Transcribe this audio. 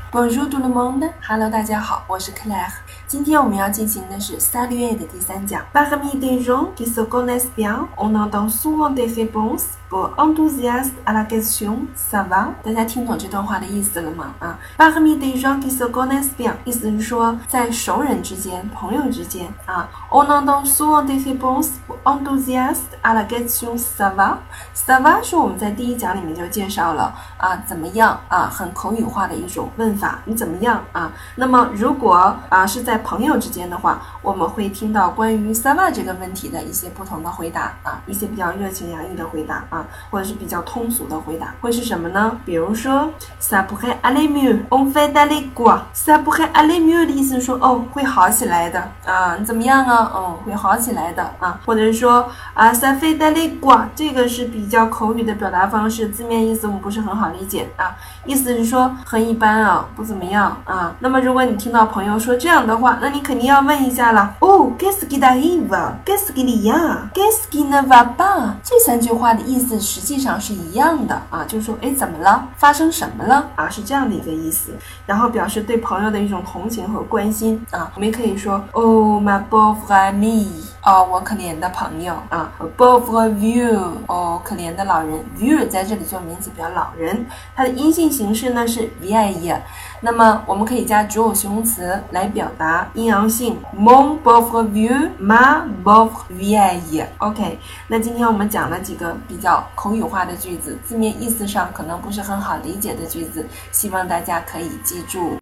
Bonjour tout le monde, Hello 大家好，我是 Claire。今天我们要进行的是 Saluer 的第3讲。Parmi des gens qui se connaissent bien, on entend souvent des réponses pour enthousiastes à la question ça va。大家听懂这段话的意思了吗？Parmi des gens qui se connaissent bien， 意思是说在熟人之间、朋友之间on entend souvent des réponses pour enthousiastes à la question ça va。ça va 是我们在第1讲里面就介绍了怎么样很口语化的一种问法，你怎么样那么如果是在朋友之间的话，我们会听到关于ça va这个问题的一些不同的回答一些比较热情洋溢的回答或者是比较通俗的回答，会是什么呢？比如说 ça pourrait aller mieux, on fait d'aller quoi。 ça pourrait aller mieux 的意思是说会好起来的你怎么样会好起来的或者是说ça fait d'aller quoi， 这个是比较口语的表达方式，字面意思我们不是很好理解意思是说很一般不怎么样那么如果你听到朋友说这样的话，那你肯定要问一下了qu'est-ce qui t'arrive, qu'est-ce qu'il y a, qu'est-ce qui ne va pas。 这3句话的意思实际上是一样的就是说怎么了，发生什么了是这样的一个意思，然后表示对朋友的一种同情和关心我们也可以说ma pauvre amie， 我可怜的朋友pauvre vieux， 可怜的老人。 vieux 在这里做名词表老人，它的阴性形式呢是 vieille， 那么我们可以加主偶形容词来表达阴阳性 mon pauvre vieux, ma pauvre vieille。 OK， 那今天我们讲了几个比较口语化的句子，字面意思上可能不是很好理解的句子，希望大家可以记住。